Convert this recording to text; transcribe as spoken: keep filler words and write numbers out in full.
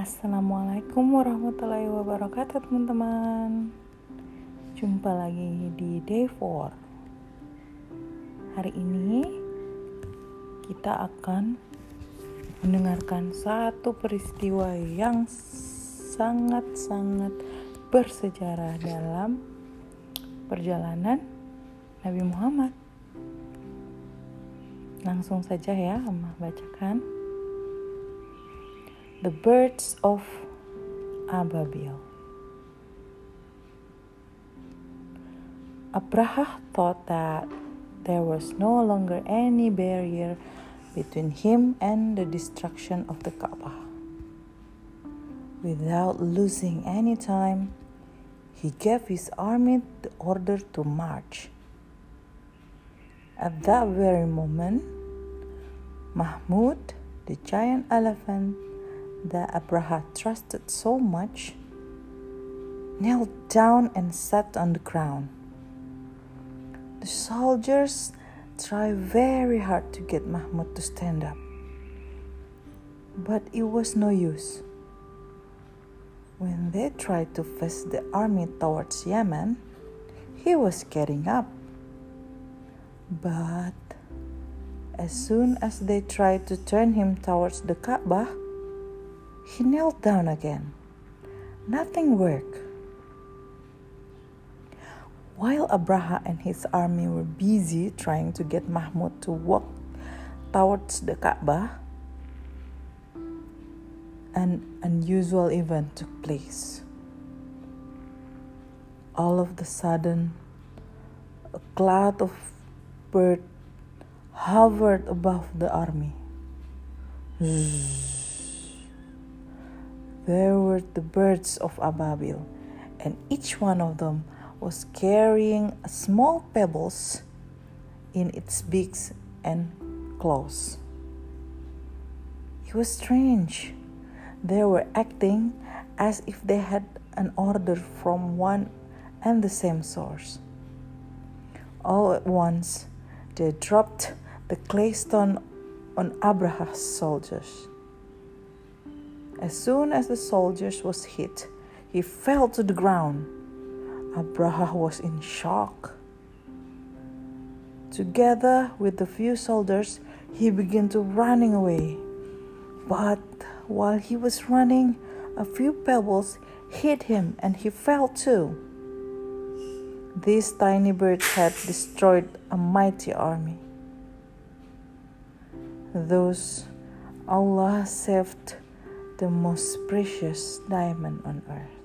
Assalamualaikum warahmatullahi wabarakatuh teman-teman. Jumpa lagi di Day four. Hari ini kita akan mendengarkan satu peristiwa yang sangat-sangat bersejarah dalam perjalanan Nabi Muhammad. Langsung saja ya, Amah bacakan. The Birds of Ababil. Abraha thought that there was no longer any barrier between him and the destruction of the Kaaba. Without losing any time, he gave his army the order to march. At that very moment, Mahmud, the giant elephant that Abraha trusted so much, knelt down and sat on the ground. The soldiers tried very hard to get Mahmud to stand up, but it was no use. When they tried to face the army towards Yemen, he was getting up. But as soon as they tried to turn him towards the Kaaba, he knelt down again. Nothing worked. While Abraha and his army were busy trying to get Mahmud to walk towards the Kaaba, an unusual event took place. All of a sudden, a cloud of birds hovered above the army. Zzz. There were the birds of Ababil, and each one of them was carrying small pebbles in its beaks and claws. It was strange. They were acting as if they had an order from one and the same source. All at once, they dropped the clay stone on Abraha's soldiers. As soon as the soldiers was hit, he fell to the ground. Abraha was in shock. Together with the few soldiers, he began to running away. But while he was running, a few pebbles hit him and he fell too. These tiny birds had destroyed a mighty army. Thus, Allah saved the most precious diamond on earth.